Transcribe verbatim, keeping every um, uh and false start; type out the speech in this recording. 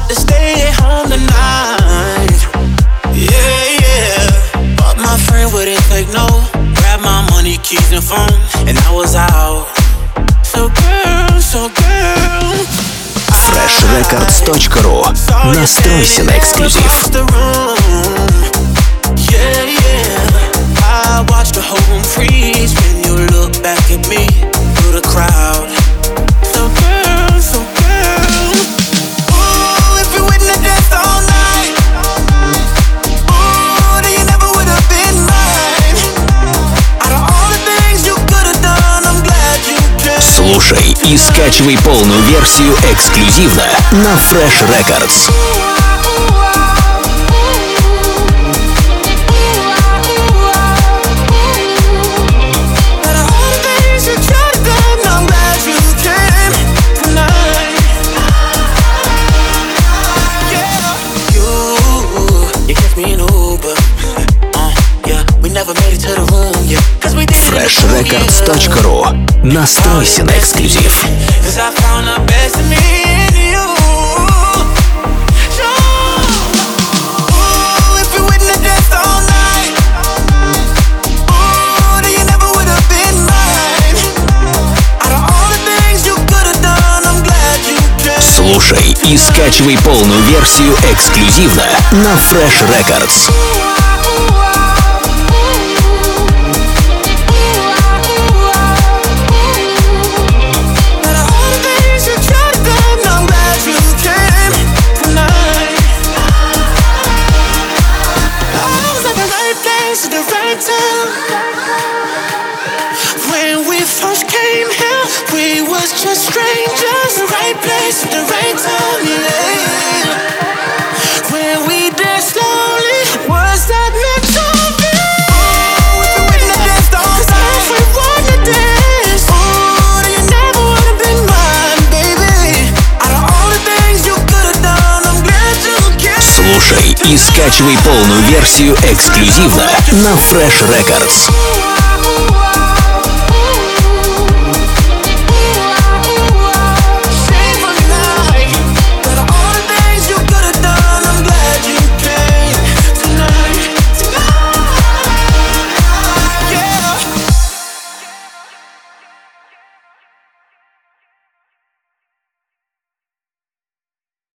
had to stay at home tonight. Yeah, yeah. But my friend wouldn't take no. Grabbed my money, keys and phone, and I was out. So girl, so girl, фреш рекордс точка ру. Настройся на эксклюзив. Yeah, yeah. I watched the whole room freeze when you look back at me through the crowd. So girl, so girl. Ooh, if you wouldn't have danced all night, ooh, then you never would have been mine. Out of all the things you could have done, I'm glad you came. Слушай и скачивай полную версию эксклюзивно на фреш рекордс. фреш рекордс точка ру. Настройся на эксклюзив. Слушай и скачивай полную версию эксклюзивно на фреш рекордс. When we first came here, we was just strangers. The right place at the right time, yeah. When we danced slowly, was that meant to be? Oh, if you wouldn't have danced all the time, 'cause I wanna dance. Oh, then you never would have been mine, baby. Out of all the things you could have done, I'm glad you came. Слушай и скачивай полную версию эксклюзивно на фреш рекордс.